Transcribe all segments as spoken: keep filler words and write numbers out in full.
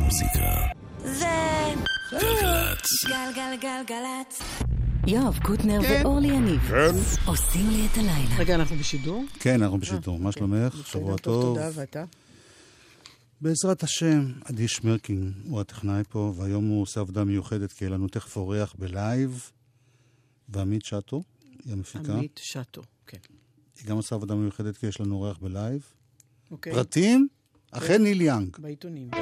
המוזיקה זה גלגלצ. גלגלגלגלצ. יואב קוטנר כן. ואורלי יניב כן. עושים לי את הלילה. רגע, אנחנו בשידור? כן, אנחנו בשידור. מה שלומך? שבוע טוב. תודה, ואתה? בעזרת השם, עדי שמרקין הוא הטכנאי פה, והיום הוא עושה עבודה מיוחדת, כי יהיה לנו תכף אורח בלייב, ועמית שטו, היא המפיקה. עמית שטו, כן. היא גם עושה עבודה מיוחדת, כי יש לנו אורח בלייב. אוקיי. פרטים? אחרי ניל יאנג. בעיתונים.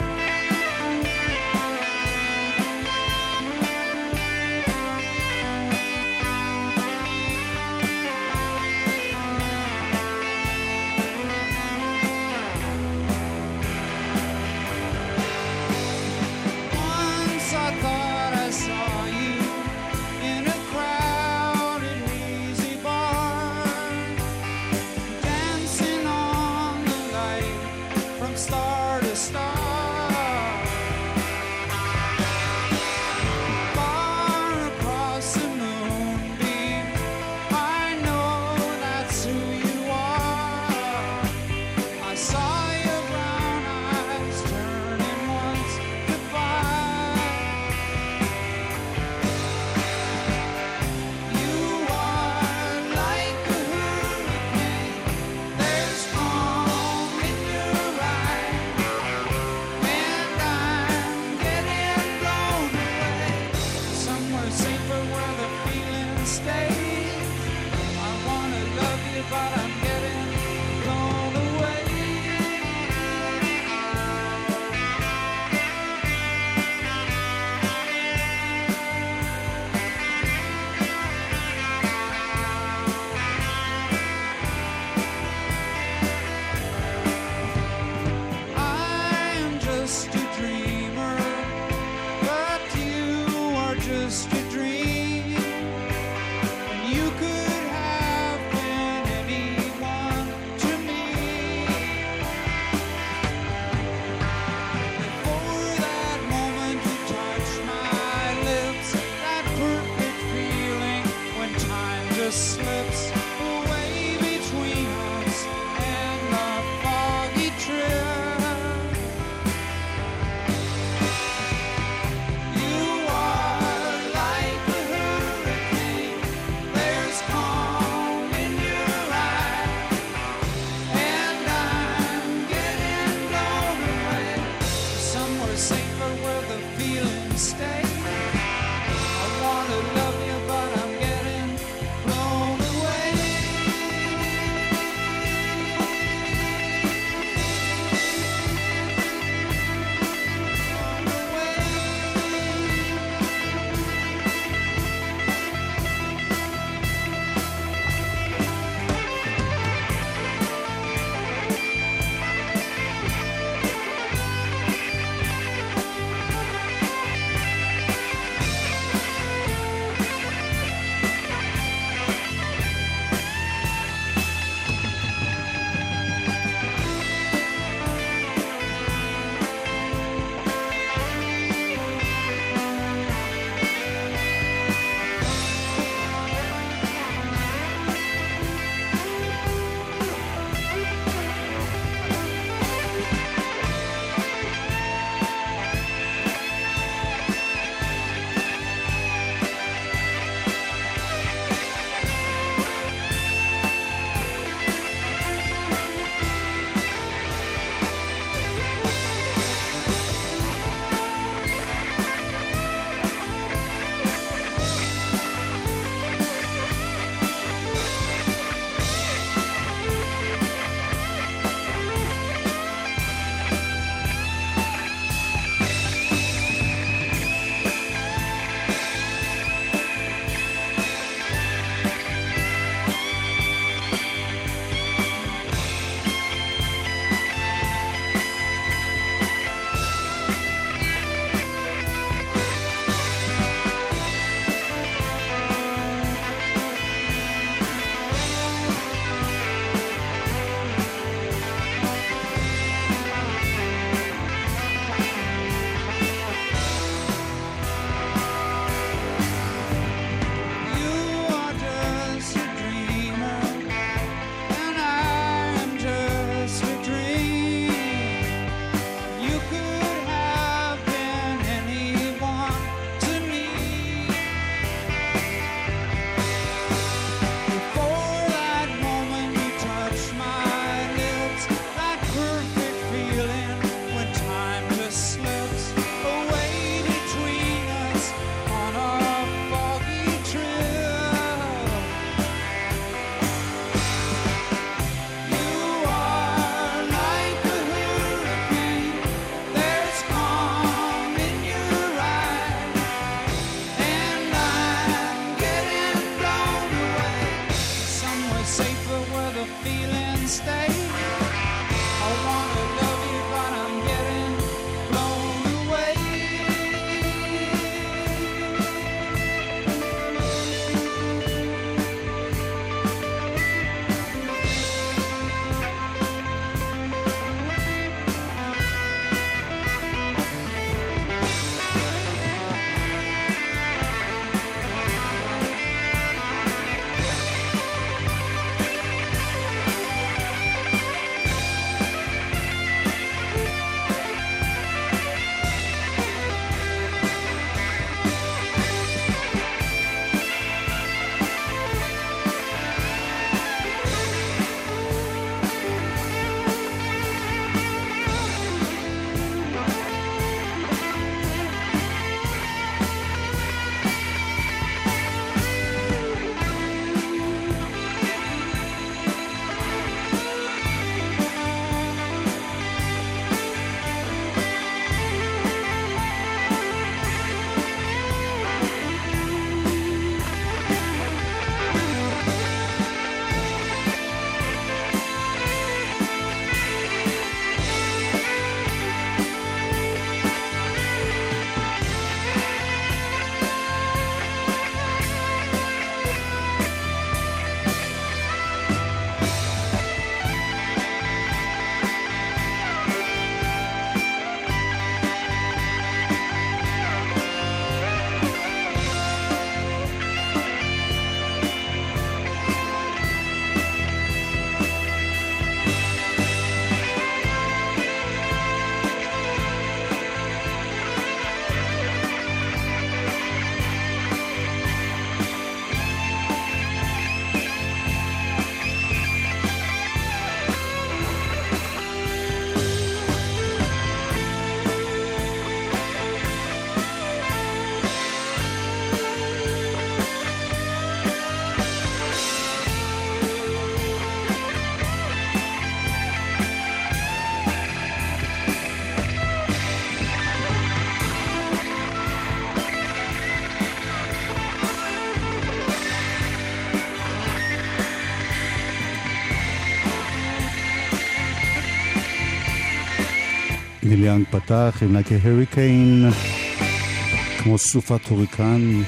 ניל יאנג פתח עם Like a Hurricane, כמו סופת הוריקן.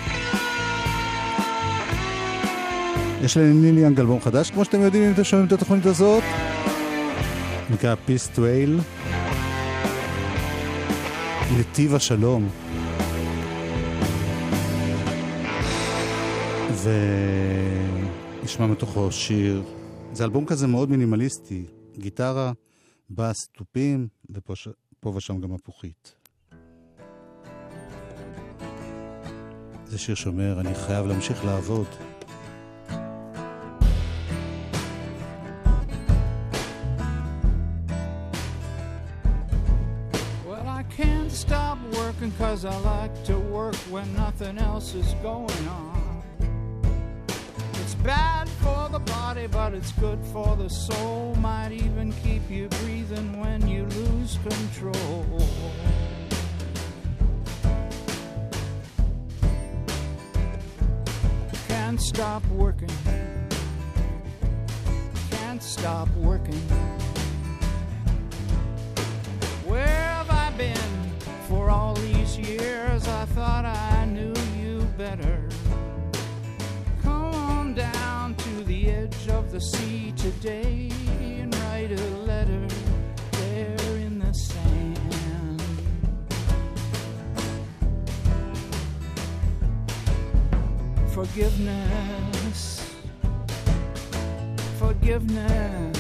יש לניל יאנג אלבום חדש, כמו שאתם יודעים אם אתם שומעים את התוכנית הזאת, נקרא Peace Trail, נתיב השלום. ונשמע מתוכו שיר. זה אלבום כזה מאוד מינימליסטי, גיטרה, בס, טופים, ופה ש... ושם גם הפוכית. זה שיר שאומר, אני חייב להמשיך לעבוד. Well, I can't stop working 'cause I like to work when nothing else is going on. It's bad for the body, but it's good for the soul. Might even keep you breathing when you lose control. Can't stop working. Can't stop working. Where have I been for all these years? I thought I knew you better. Down to the edge of the sea today and write a letter there in the sand. Forgiveness, forgiveness.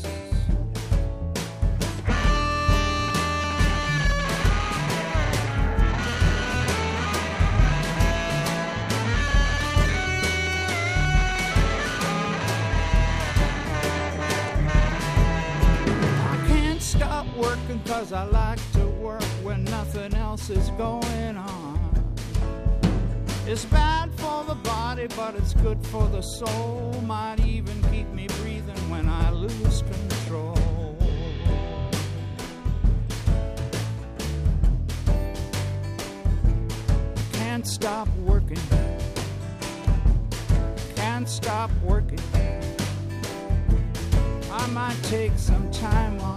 Working 'cause I like to work when nothing else is going on. It's bad for the body, but it's good for the soul. Might even keep me breathing when I lose control. Can't stop working. Can't stop working. I might take some time off.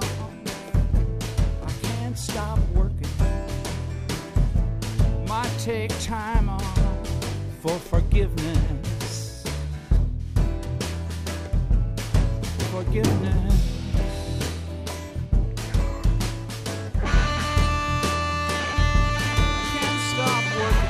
Stop working. Might take time off for forgiveness. Forgiveness. Can't stop working.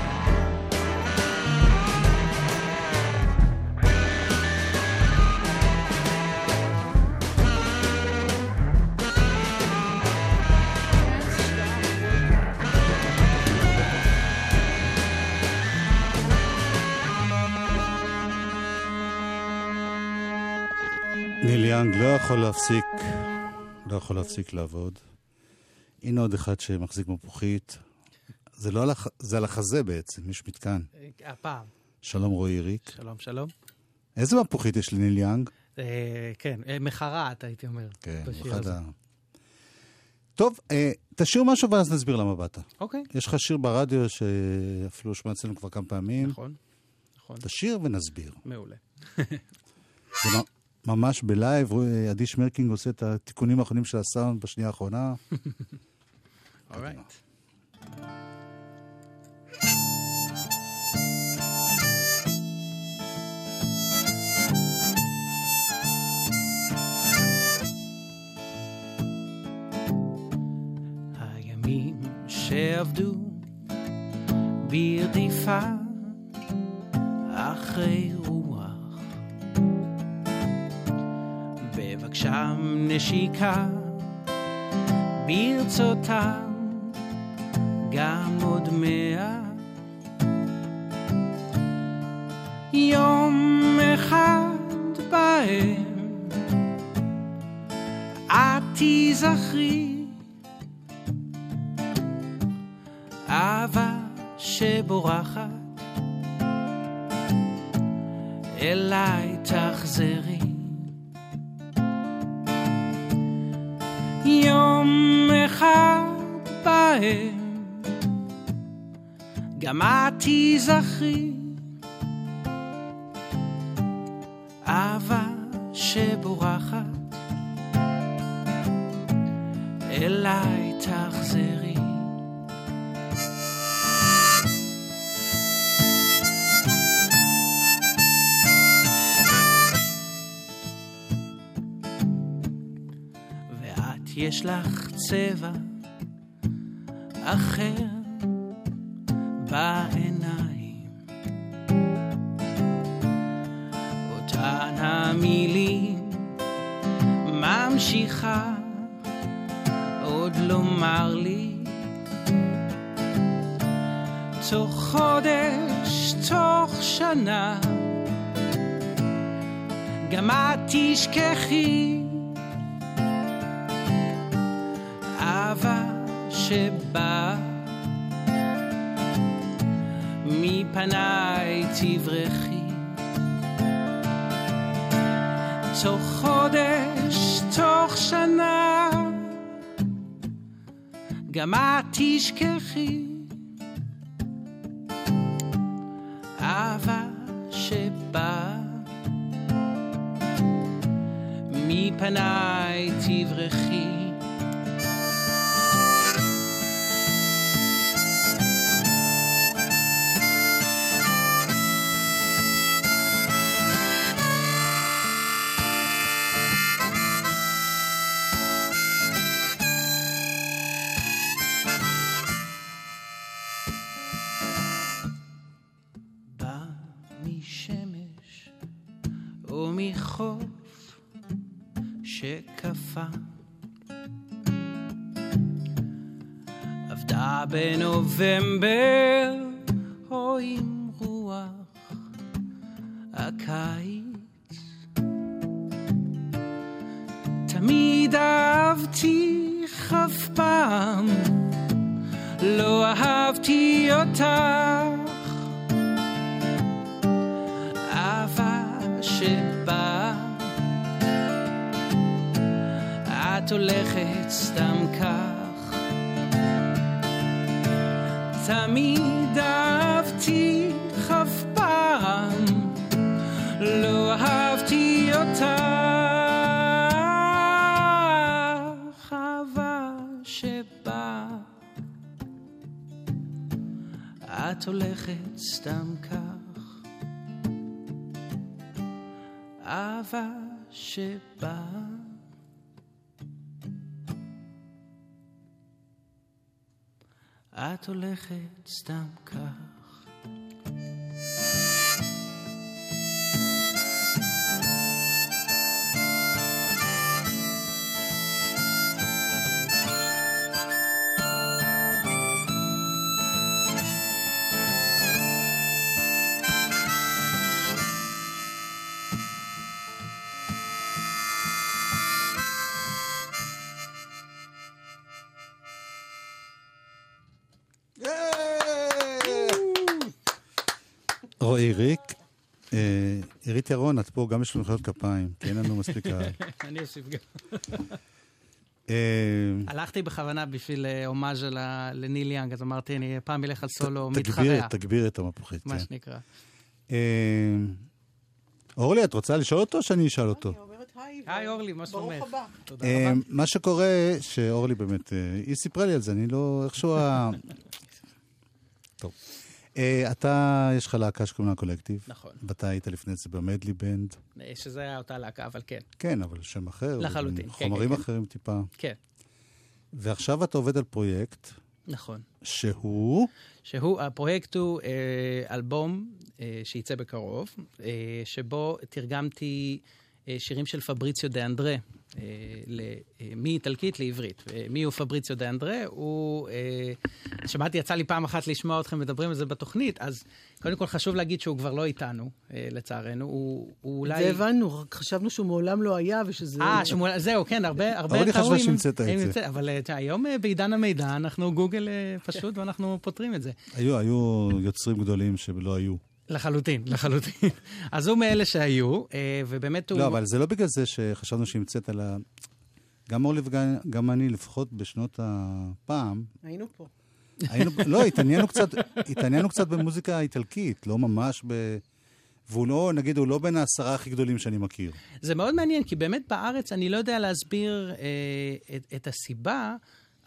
ניל יאנג לא יכול להפסיק, לא יכול להפסיק לעבוד. הנה עוד אחד שמחזיק מפוחית. זה לא על, הח... זה על החזה בעצם, יש מתקן. הפעם. שלום רועי ריק. שלום, שלום. איזה מפוחית יש לניל יאנג? אה, כן, אה, מחרת הייתי אומר. כן, אחד ה... טוב, אה, תשאיר משהו ואז נסביר למה באת. אוקיי. יש לך שיר ברדיו שאפילו שמע אצלנו כבר כמה פעמים. נכון, נכון. תשאיר ונסביר. מעולה. זה ממש בלייב, עדי שמרקינג עושה את התיקונים האחרונים של הסאונד בשנייה האחרונה. אורייט. הימים שעבדו ברדיפה אחרי רוח, בבקשם נשיקה ברצותם גם עוד מאה. יום אחד בהם את תזכרי אהבה שבורחת אליי תחזרי. יום אחד בהם גם את תזכרי אהבה שבורחת אליי תחזרי. ואת יש לך צבע אחר בעיניים, אותן המילים ממשיכה עוד לומר לי, תוך חודש, תוך שנה, גם את תשכחי אהבה שבא מפניי תברכי, תוך חודש, תוך שנה, גם את תשכחי אהבה שבא מפניי תברכי. מחוף שקפה עבדה בנובמבר או עם רוח הקיץ, תמיד אהבתי אף פעם לא אהבתי אותך, אהבה שבא את הולכת סתם כך, תמיד אהבתי אף פעם לא אהבתי אותך, אהבה שבא את הולכת סתם כך, אהבה שבא את הולכת סתם כך. רועי ריק, עירית ירון, את פה, גם יש לנו מחיאות כפיים, כי אין לנו מספיק קהל. אני אוסיף גם. הלכתי בכוונה בשביל הומאז' לניל יאנג, אז אמרתי, אני פעם אלך על סולו מתחרע. תגביר את המפוחית. מה שנקרא. אורלי, את רוצה לשאול אותו או שאני אשאל אותו? אני אומרת היי. היי אורלי, מה שלומך? ברוך הבא. תודה רבה. מה שקורה, שאורלי באמת, היא סיפרה לי על זה, אני לא, איכשהו ה... טוב. אתה, יש לך להקה שקוראים לה קולקטיב. נכון. ואתה היית לפני זה במדלי בנד. שזה היה אותה להקה, אבל כן. כן, אבל שם אחר. לחלוטין. חומרים אחרים טיפה. כן. ועכשיו אתה עובד על פרויקט. נכון. שהוא? שהוא, הפרויקט הוא אלבום שייצא בקרוב, שבו תרגמתי שירים של פבריציו דה אנדרה, מאיטלקית לעברית. מי הוא פבריציו דה אנדרה? הוא, שמעתי, יצא לי פעם אחת לשמוע אתכם מדברים על זה בתוכנית, אז קודם כל חשוב להגיד שהוא כבר לא איתנו, לצערנו. הוא אולי... זה הבנו, רק חשבנו שהוא מעולם לא היה ושזה... אה, זהו, כן, הרבה... אבל אני חשבה שהמצאת את זה. אבל היום בעידן המידע, אנחנו גוגל פשוט ואנחנו פותרים את זה. היו, היו יוצרים גדולים שלא היו. לחלוטין, לחלוטין. אז הוא מאלה שהיו, ובאמת הוא... לא, אבל זה לא בגלל זה שחשבנו שהמצאת על ה... גם אורלי וגם אני, לפחות בשנות הפעם... היינו פה. היינו, לא, התעניינו קצת, התעניינו קצת במוזיקה האיטלקית, לא ממש ב... והוא לא, נגיד, הוא לא בין העשרה הכי גדולים שאני מכיר. זה מאוד מעניין, כי באמת בארץ אני לא יודע להסביר אה, את, את הסיבה,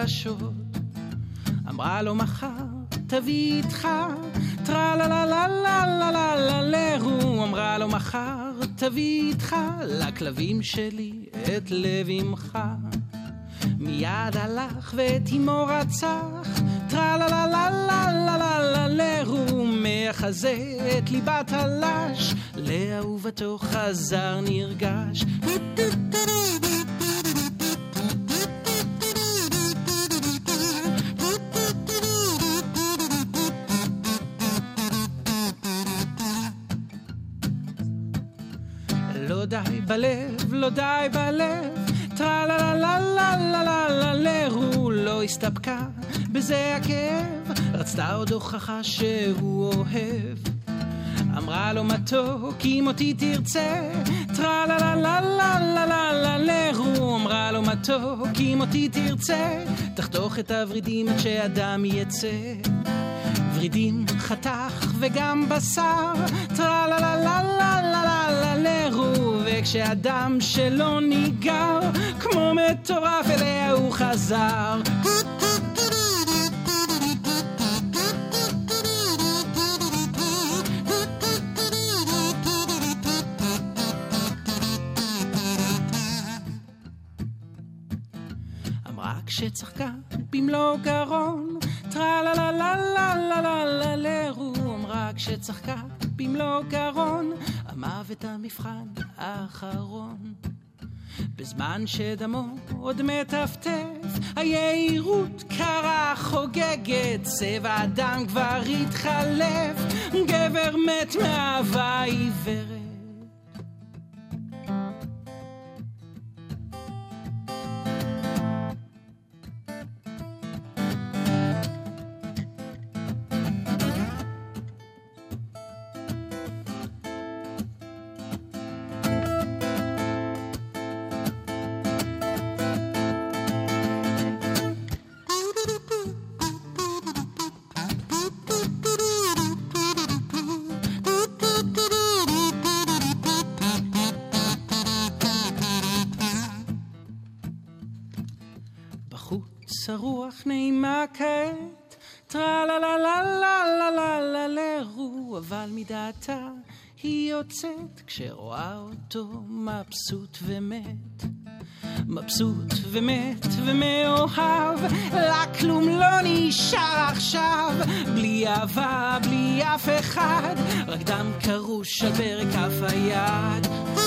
רגשות. אמרה לו מחר תביא איתך טרה לה לה לה לה לה לה לה לרו. אמרה לו מחר תביא איתך לכלבים שלי את לב אמך. מיד הלך ואת אמו רצח טרה לה לה לה לה לה לה לה לרו. מחזה את ליבת הלש לאהובתו חזר נרגש. לא די בלב, לא די בלב, טרה לה לה לה לה לה לה לה לרו. לא הסתפקה בזה הכאב, רצתה עוד הוכחה שהוא אוהב. אמרה לו מתוק אם אותי תרצה טרה לה לה לה לה לה לה לה לרו. אמרה לו מתוק אם אותי תרצה תחתוך את הורידים עד שאדם יצא. ורידים חתך וגם בשר טרה לה לה לה לה לה לה לה לרו. וכשאדם שלא ניגר כמו מטורף אליה הוא חזר. אמרה כשצחקה במלוא גרון טרה לה לה לה לה לה לה לה לרו. אמרה כשצחקה במלוא גרון המוות המבחן האחרון. בזמן שדמו עוד מטפטף היהירות קרה חוגגת. צבע הדם כבר התחלף, גבר מת מאהבה עיוורת. בחוץ הרוח נעימה כעת, טרה לה לה לה לה לה לה לה לרו, אבל מדעתה היא יוצאת כשרואה אותו מבסוט ומת. מבסוט ומת ומאוהב, לה כלום לא נשאר עכשיו, בלי אהבה, בלי אף אחד, רק דם קרוש על ברק כף היד.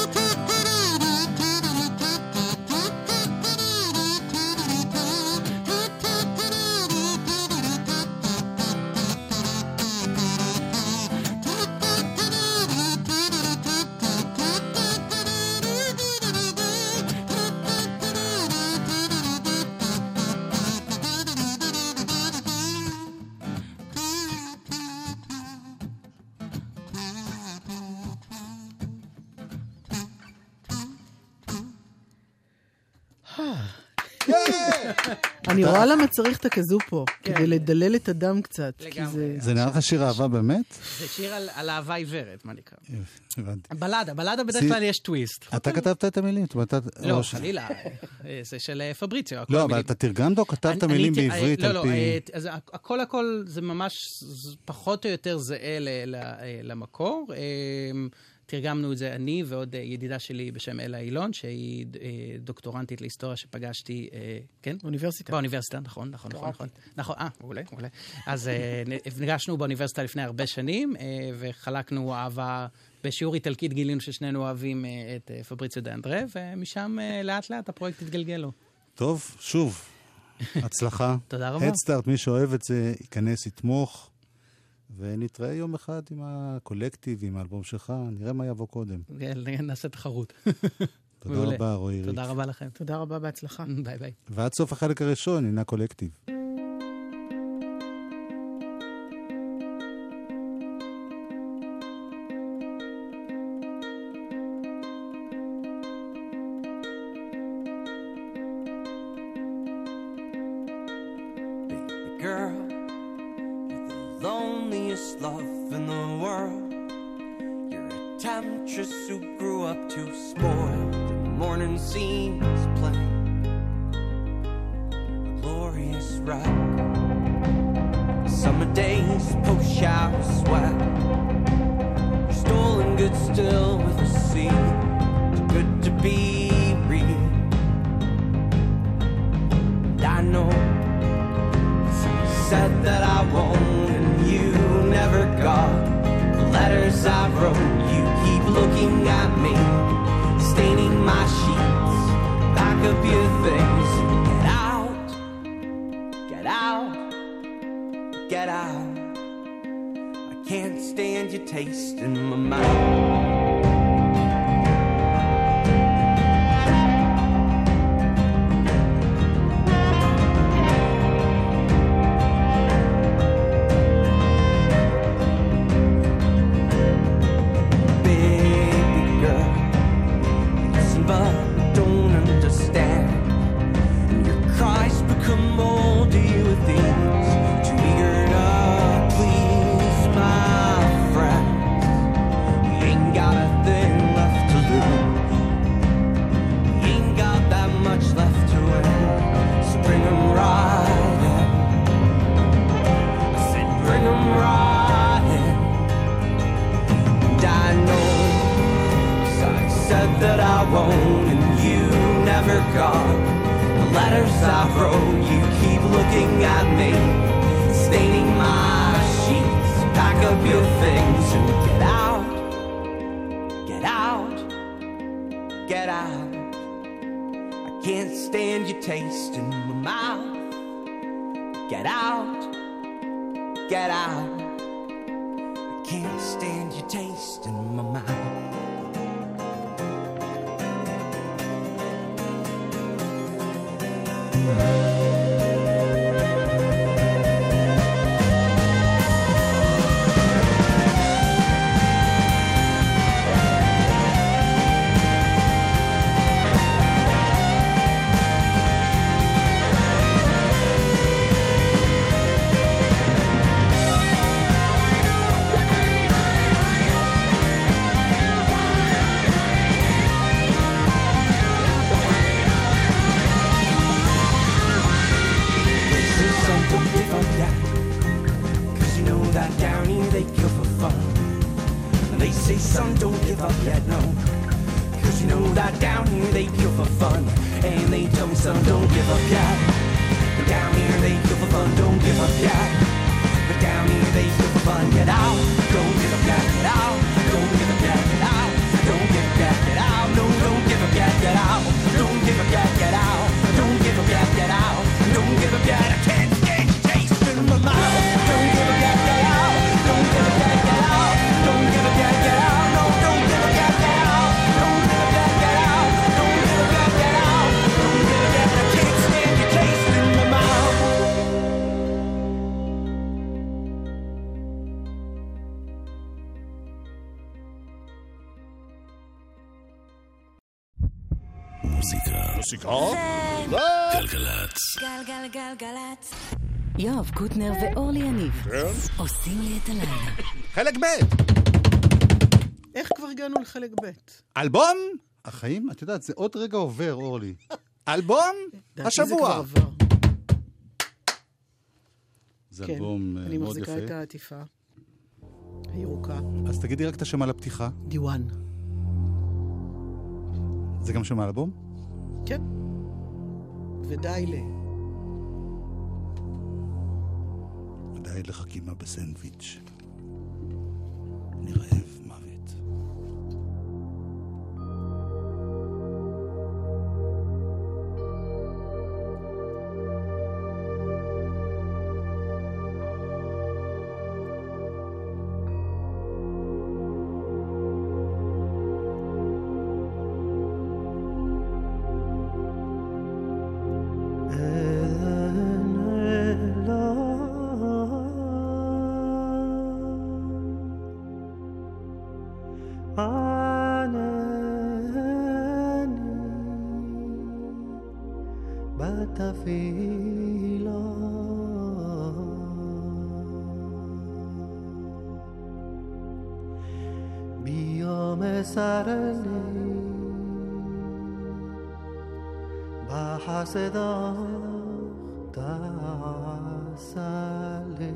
אני רואה למה צריך את הכזו פה, כדי לדלל את הדם קצת. זה נראה לך שיר אהבה באמת? זה שיר על אהבה עיוורת, מה נקרא? הבנתי. בלדה, בלדה בדרך כלל יש טוויסט. אתה כתבת את המילים? לא, חלילה, זה של פבריציו. לא, אבל אתה תרגמת או כתבת מילים בעברית על פי... לא, לא, הכל הכל זה ממש פחות או יותר זהה למקור. תרגמנו את זה אני ועוד ידידה שלי בשם אלה אילון, שהיא דוקטורנטית להיסטוריה שפגשתי, כן? באוניברסיטה. באוניברסיטה, נכון, נכון, נכון. נכון, אה, מעולה, מעולה. אז נפגשנו באוניברסיטה לפני הרבה שנים, וחלקנו אהבה, בשיעור איטלקית גילינו ששנינו אוהבים את פבריציו דה אנדרה, ומשם לאט לאט הפרויקט התגלגל לו. טוב, שוב, הצלחה. תודה רבה. הדסטארט, מי שאוהב את זה, ייכנס, יתמוך. ונתראה יום אחד עם הקולקטיב, עם האלבום שלך, נראה מה יבוא קודם. נעשה תחרות. תודה רבה, רועי ריק. תודה רבה לכם. תודה רבה, בהצלחה. ביי ביי. ועד סוף החלק הראשון, הנה קולקטיב. Love in the world. You're a temptress who grew up too spoiled. The morning scenes play a glorious ride. Summer days post shower sweat. Stolen goods still with the sea. Too good to be real. And I know said that I won't, and you never got the letters I wrote. You keep looking at me, staining my sheets. Pack up your things, get out, get out, get out. I can't stand your taste in my mouth. that down here they kill for fun. And they tell me, son, don't give up yet. But down here they kill for fun, don't give up yet. But down here they kill for fun, get out. Don't give up yet, get out. Don't give up yet, get out. Don't give up yet, get out. No, don't give up yet, get out. Don't give up yet, get out. Don't give up yet, get out. Don't give up yet, I can't stand taste in my mouth. Don't give up yet, get out. Don't give up yet, get out. Don't give up yet, get out. No, don't give up yet, get out. Don't give up yet, get out. Don't give up yet, get out. Don't give up yet, I can't stand your taste in my mouth. מוזיקה. מוסיקה? זה... גלגלצ. גלגלגלגלצ. יואב קוטנר ואורלי יניב. כן? עושים לי את הלילה. חלק ב'. איך כבר הגענו לחלק ב'? אלבום? החיים, את יודעת, זה עוד רגע עובר, אורלי. אלבום? דעתי השבוע. זה כבר עבר. זה כן, אלבום אני מאוד מחזיקה את יפה. העטיפה הירוקה. אז תגידי רק את השם על הפתיחה. דיוואן. זה גם שם האלבום? כן. ודי ל... די לחכימה בסנדוויץ'. אני רעב מוות. صدا تسلی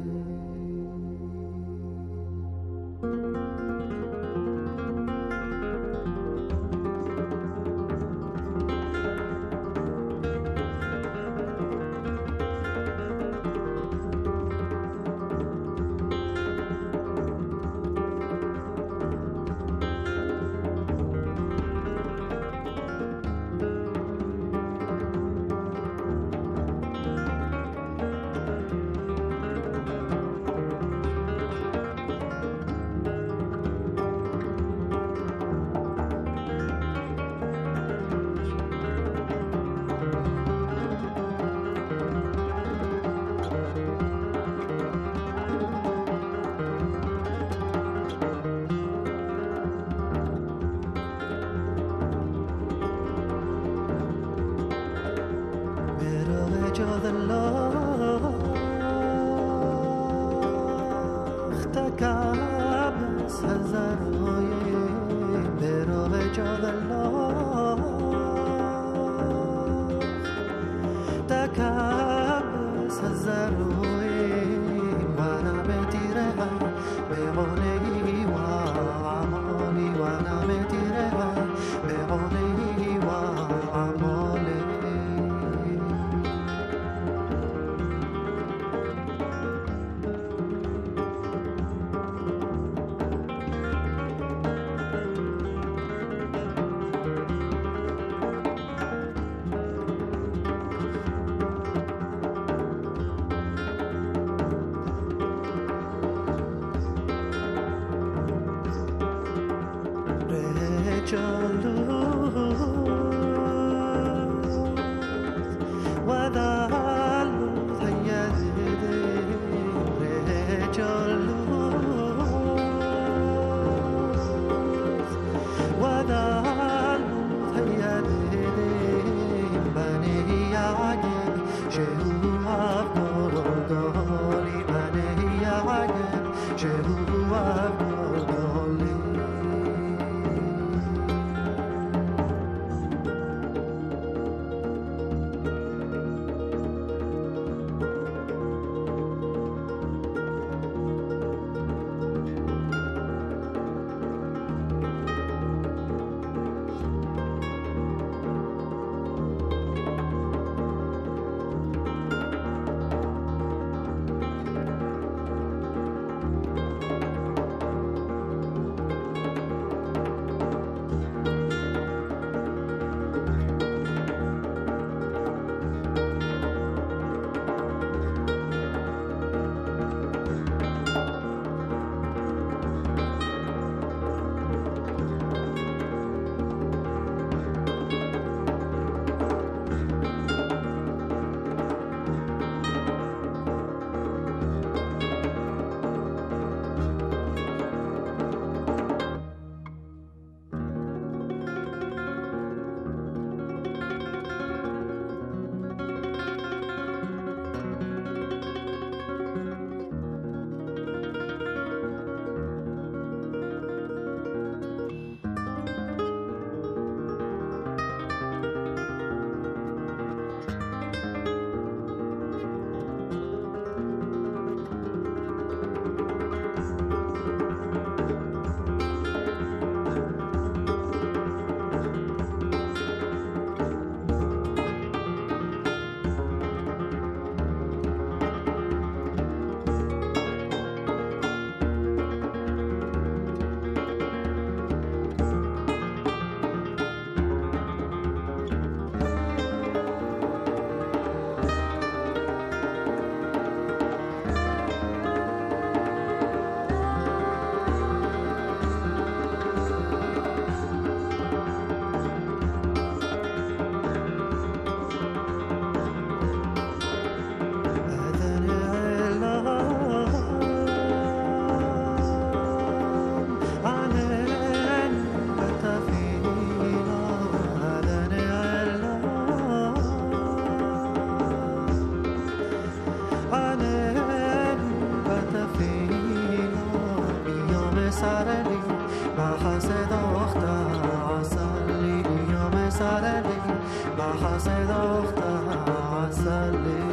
حسد اختها عسلی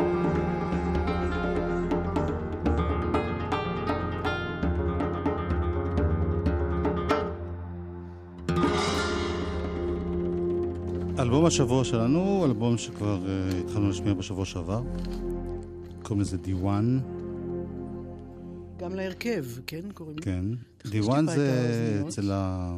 אלבום השבוע שלנו, אלבום שכבר uh, התחלנו לשמיע בשבוע שעבר. קוראים לזה דיוואן. גם להרכב, כן? קוראים כן. דיוואן זה אצל ה...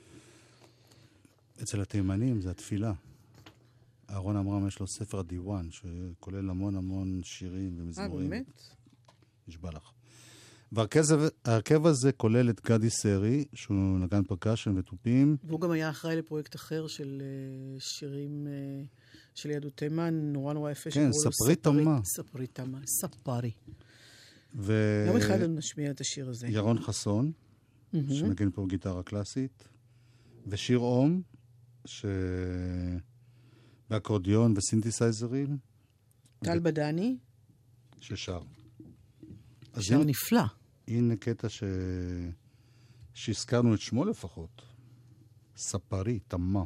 אצל התימנים, זה התפילה. אהרון עמרם יש לו ספר דיוואן, שכולל המון המון שירים ומזמורים. אה, באמת? נשבע לך. והרכב הזה כולל את גדי סרי, שהוא נגן פרקשן וטופים. והוא גם היה אחראי לפרויקט אחר של שירים של יהדות תימן, נורא נורא יפה. כן, ספרי תמה. ספרי תמה, ספרי. ו... יום אחד נשמיע את השיר הזה. ירון חסון, שנגן פה גיטרה קלאסית, ושיר אום, ש... באקורדיון וסינתסייזרים. טל בדני. ששר. שר נפלא. הנה קטע ש... שהזכרנו את שמו לפחות. ספרי, תמה.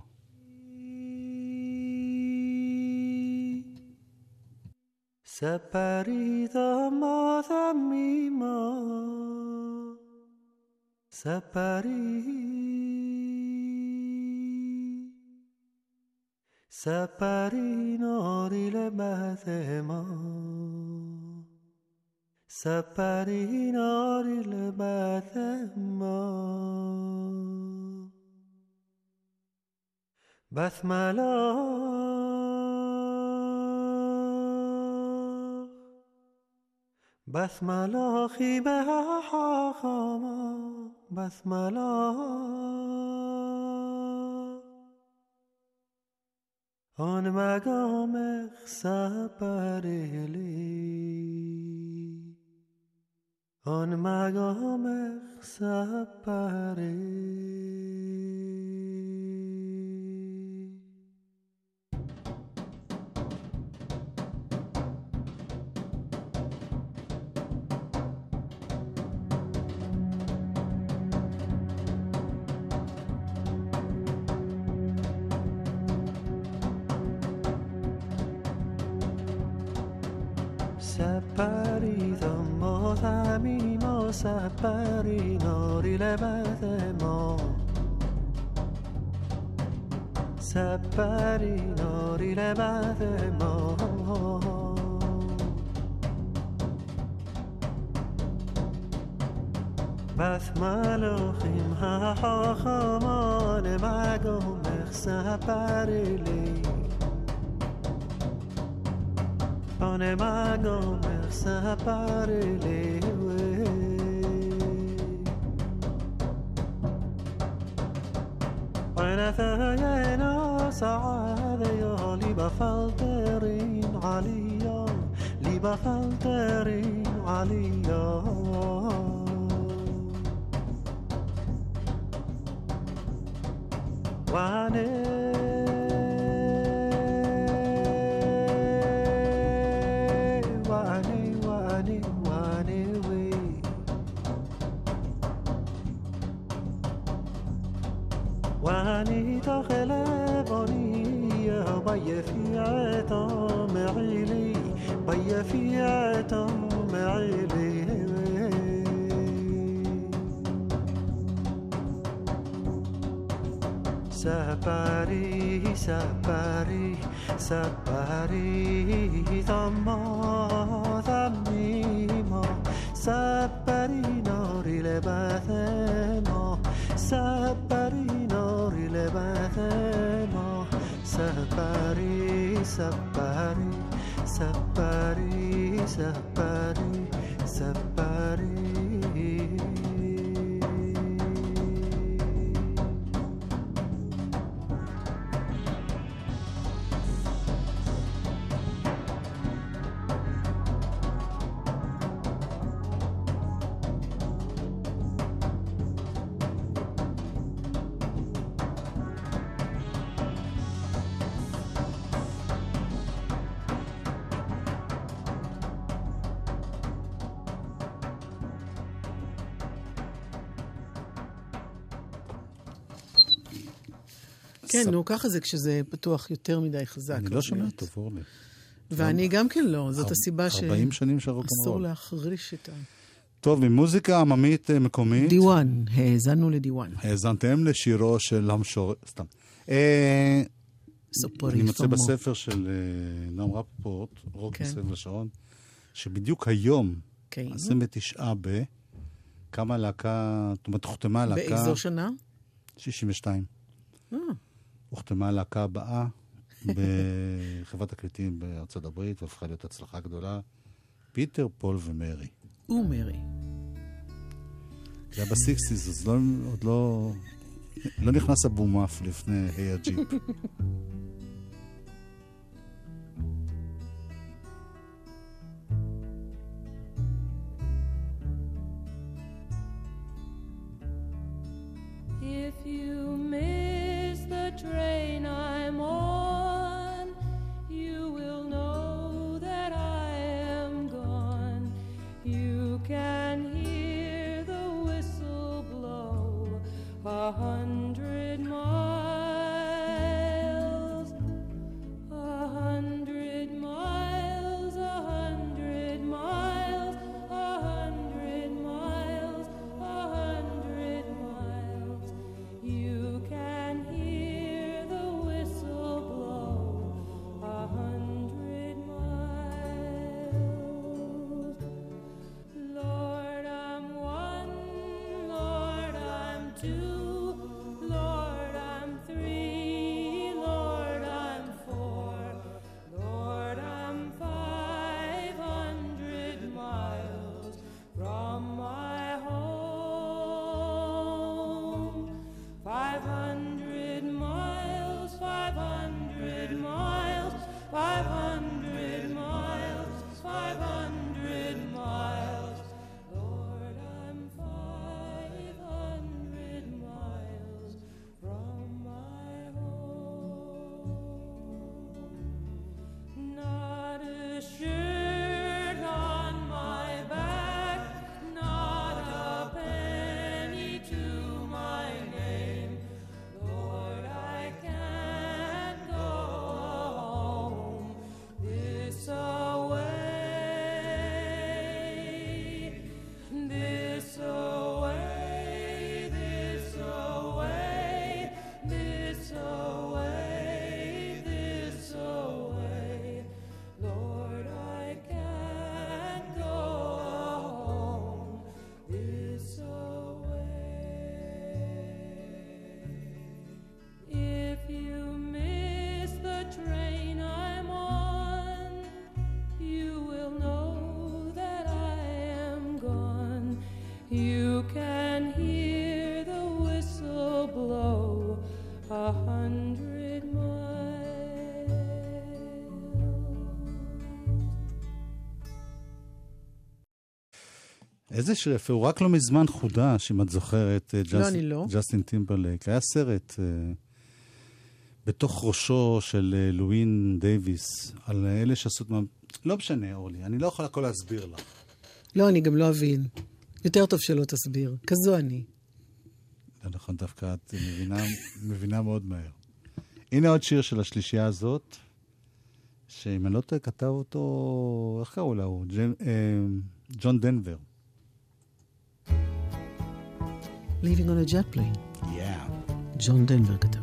ספרי תמה תמימה ספרי ספרי נורי לבתמה ספרי נורי לבתמה בסמלה בסמלה חיבה חכמה בסמלה آن مقام سپری آن مقام سپری سپری ما زمین و سپری ناری لبت ما سپری ناری لبت ما بس ملوخیم ها خامان مگم سپری لی آن مگم سپری لی ونثينا سعادة يا لبفلترين عليا لبفلترين عليا وعنه واني داخل باني بي في عتام عيلي بي في عتام عيلي سپری سپری سپری تما تمیما سپری ناری لبت ما سپری ناری لبت ما سپری سپری سپری سپری سپری כן, נו, ככה זה כשזה פתוח יותר מדי חזק. אני לא שומע טוב, אורלי. ואני גם כן לא, זאת הסיבה ש... ארבעים שנים של רוקנרול. אסור להחריש את ה... טוב, ממוזיקה עממית מקומית. דיוואן, האזנו לדיוואן. האזנתם לשירו של המשורר, סתם. אני מוצא בספר של נועם רפפורט, רוק מסביב לשעון, שבדיוק היום, עשרים ותשעה ב... כמה להקה, זאת אומרת, הוחתמה להקה... באיזו שנה? שישים ושתיים. הוחתמה הלהקה הבאה בחברת תקליטים בארצות הברית, והפכה להיות הצלחה גדולה. פיטר, פול ומרי. ומרי. זה היה בסיקסיס, אז לא, עוד לא... לא נכנס הבומף לפני היי הג'יפ. If you miss the train I'm on, you will know that I am gone. You can hear the whistle blow a hundred miles, a hundred miles, a hundred miles, a hundred miles, a hundred miles. You can hear the whistle blow a hundred miles. Lord, I'm one, Lord, I'm two, Lord, I'm three, Lord, I'm four, Lord, I'm five hundred miles from my home. Five hundred miles, five hundred miles, five hundred miles, five hundred miles. Lord, I'm five hundred miles from my home. Not a shirt on my back, not a penny to my name. Lord, I can't go home this away, this away, this away, this away, this away. Lord, I can't go home this away. If you miss the train I'm on, you will know that I am gone. You can hear the whistle blow a hundred miles. איזה שיר יפה, הוא רק לא מזמן חודש, אם את זוכרת, לא, אני לא. ג'סטין טימברלייק. היה סרט בתוך ראשו של לואין דייביס, על אלה שעשו... לא משנה, אורלי, אני לא יכול הכל להסביר לך. לא, אני גם לא אבין. יותר טוב שלא תסביר. כזו אני. לא נכון, דווקא את מבינה, מבינה מאוד מהר. הנה עוד שיר של השלישייה הזאת, שאם אני לא טועה, כתב אותו... איך קראו לה הוא? ג'ון דנבר. Leaving on a jet plane. Yeah. ג'ון דנבר כתב.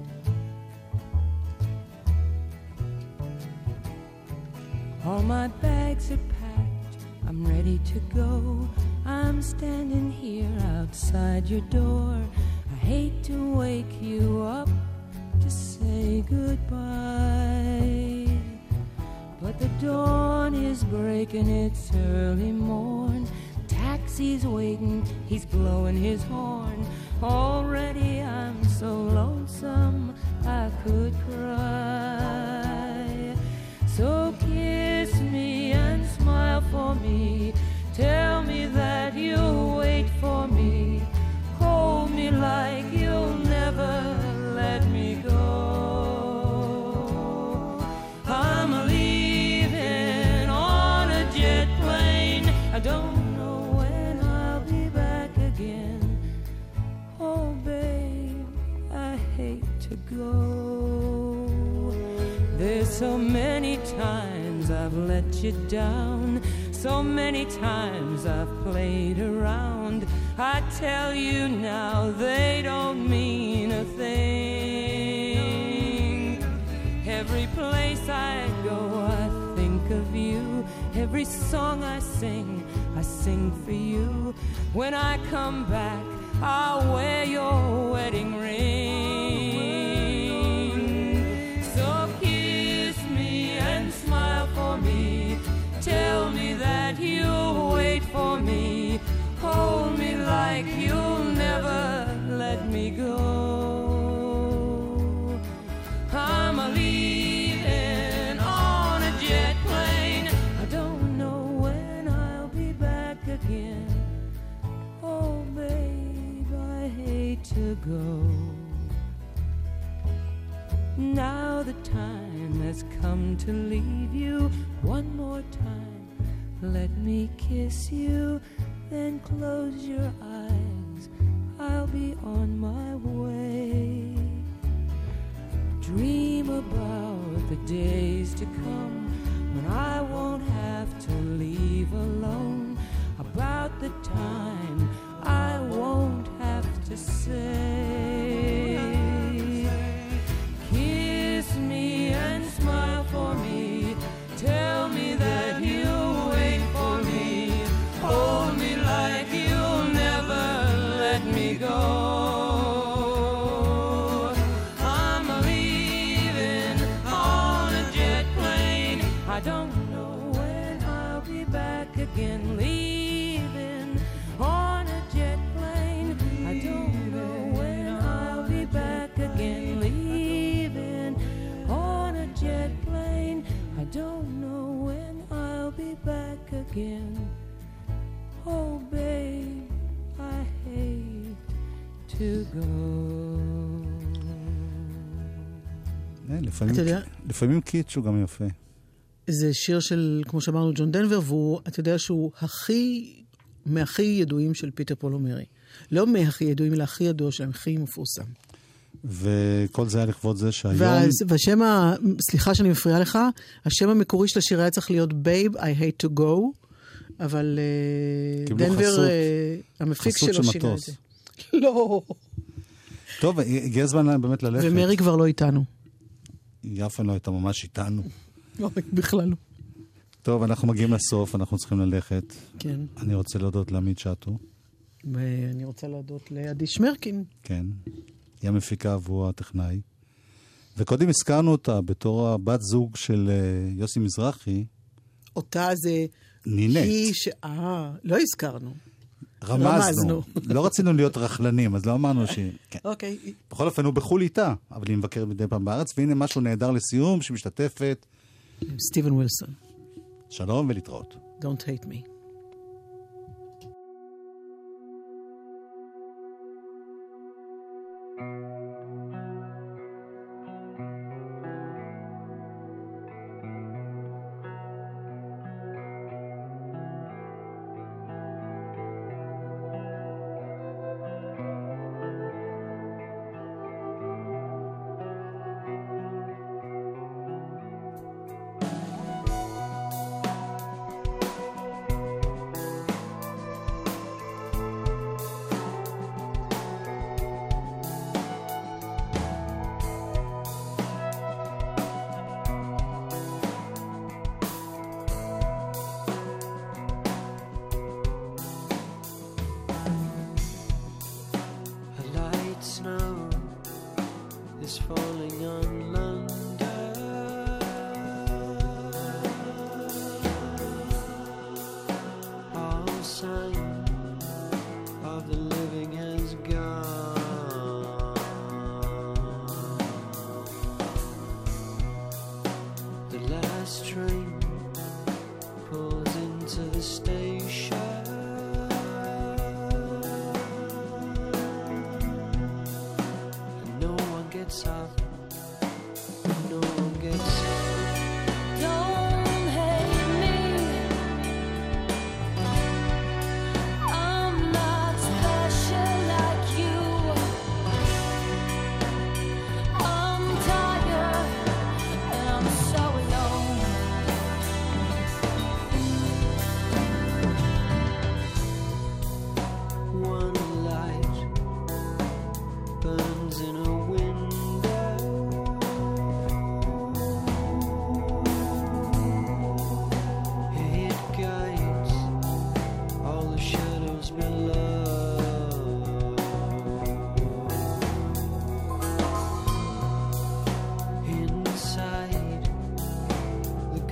All my bags are packed, I'm ready to go. I'm standing here outside your door. I hate to wake you up to say goodbye, but the dawn is breaking, it's early morn. Taxi's waiting, he's blowing his horn. Already I'm so lonesome I could cry. So kiss me and smile for me. Tell me that you'll wait for me. Hold me like you'll never let me go. I'm leaving on a jet plane. I don't know when I'll be back again. Oh, babe, I hate to go. There's so many times I've let you down, so many times I've played around. I tell you now they don't mean a thing. Every place I go I think of you. Every song I sing, I sing for you. When I come back, I'll wear your wedding ring. So kiss me and smile for me. Tell me that you'll wait for me. Hold me like you'll never let me go. I'm a leaving on a jet plane. I don't know when I'll be back again. Oh, babe, I hate to go. Now the time has come to leave you. One more time, let me kiss you. Then close your eyes, I'll be on my way. Dream about the days to come when I won't have to leave alone. About the time I won't have to say. Kiss me and smile for me. Tell me that you'll wait for me. Hold me like you'll never let me go. I'm leaving on a jet plane. I don't know when I'll be back again. Leaving on a jet plane. I don't know when I'll be back again. Leaving on a jet plane. I don't know when I'll be back again. Oh, babe, I hate to go. לפעמים, אתה יודע? לפעמים קיץ' הוא גם יפה. זה שיר של, כמו שאמרנו, ג'ון דנבר, והוא, אתה יודע שהוא הכי, מהכי ידועים של פיטר פול ומרי. לא מהכי ידועים, אלא הכי ידוע שלהם, הכי מפורסם. וכל זה היה לכבוד זה שהיום... ואז, והשם, ה... סליחה שאני מפריעה לך, השם המקורי של השיר היה צריך להיות Babe, I hate to go, אבל דנבר, המפיק שלו שינה את זה. לא. טוב, הגיע הזמן באמת ללכת. ומרי כבר לא איתנו. יפה לא הייתה ממש איתנו. לא, בכלל לא. טוב, אנחנו מגיעים לסוף, אנחנו צריכים ללכת. כן. אני רוצה להודות לעמית שטו. ואני רוצה להודות לעדי שמרקין. כן. היא המפיקה עבור הטכנאי. וקודם הזכרנו אותה בתור הבת זוג של יוסי מזרחי. אותה זה... נינט. היא ש... אה, לא הזכרנו. רמזנו. רמזנו. לא רצינו להיות רכלנים, אז לא אמרנו ש... כן. אוקיי. בכל אופן, הוא בחול איתה, אבל היא מבקרת מדי פעם בארץ, והנה משהו נהדר לסיום, שמשתתפת. סטיבן ווילסון. שלום ולהתראות. Don't hate me. I'm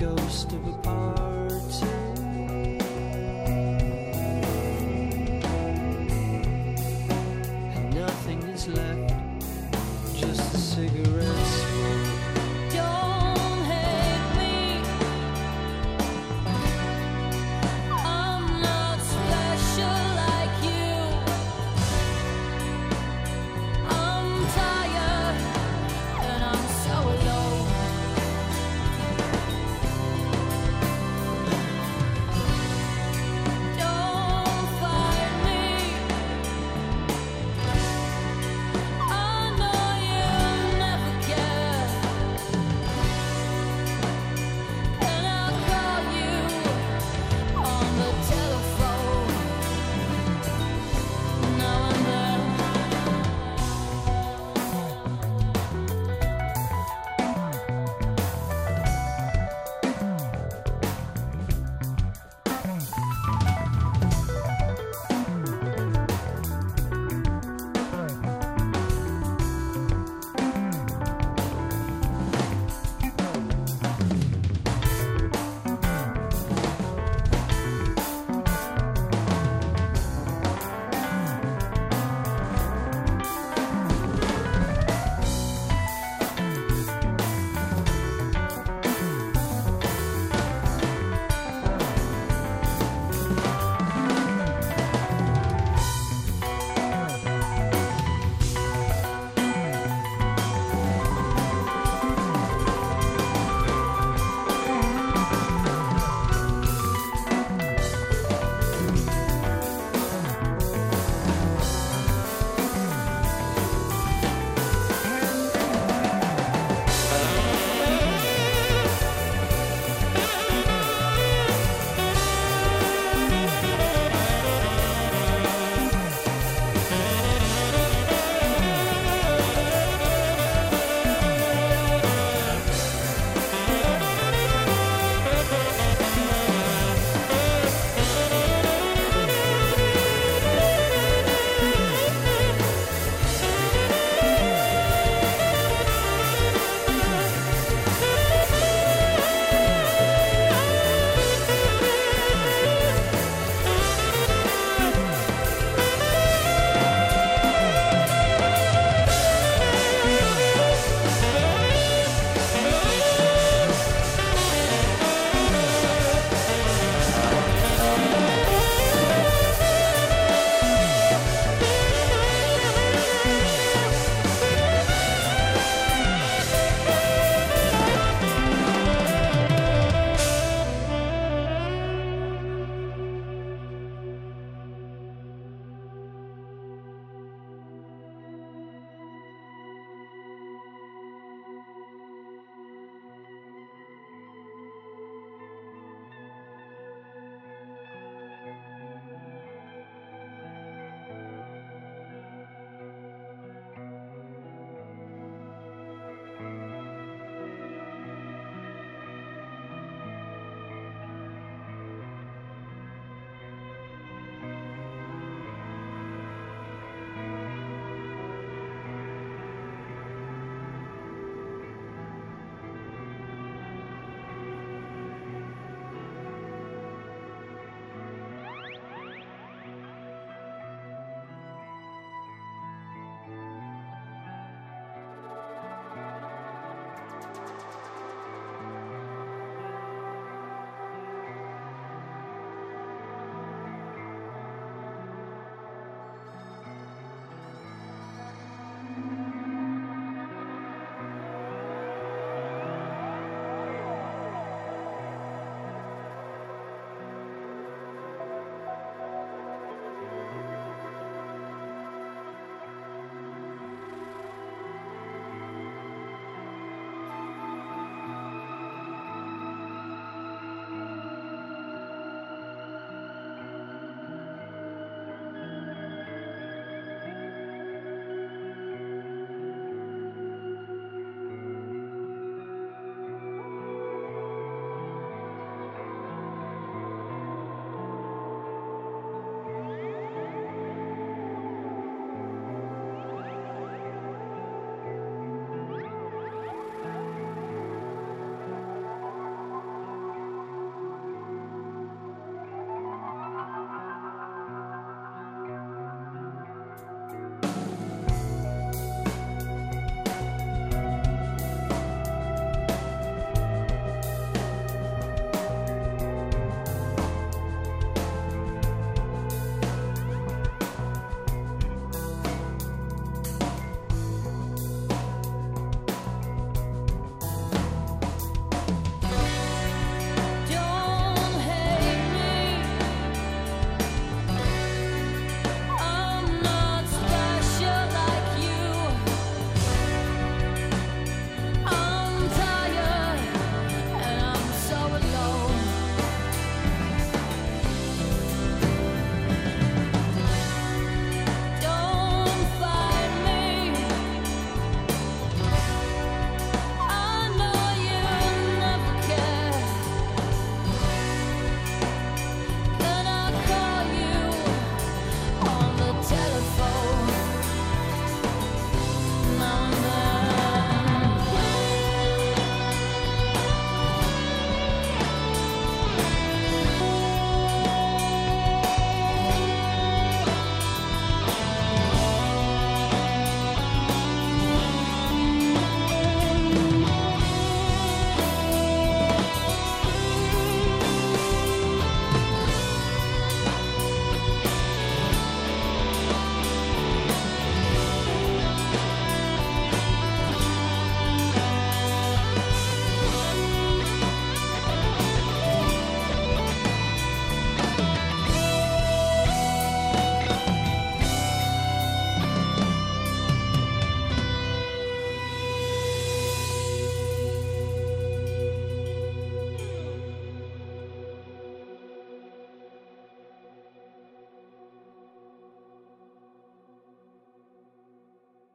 ghost of a party.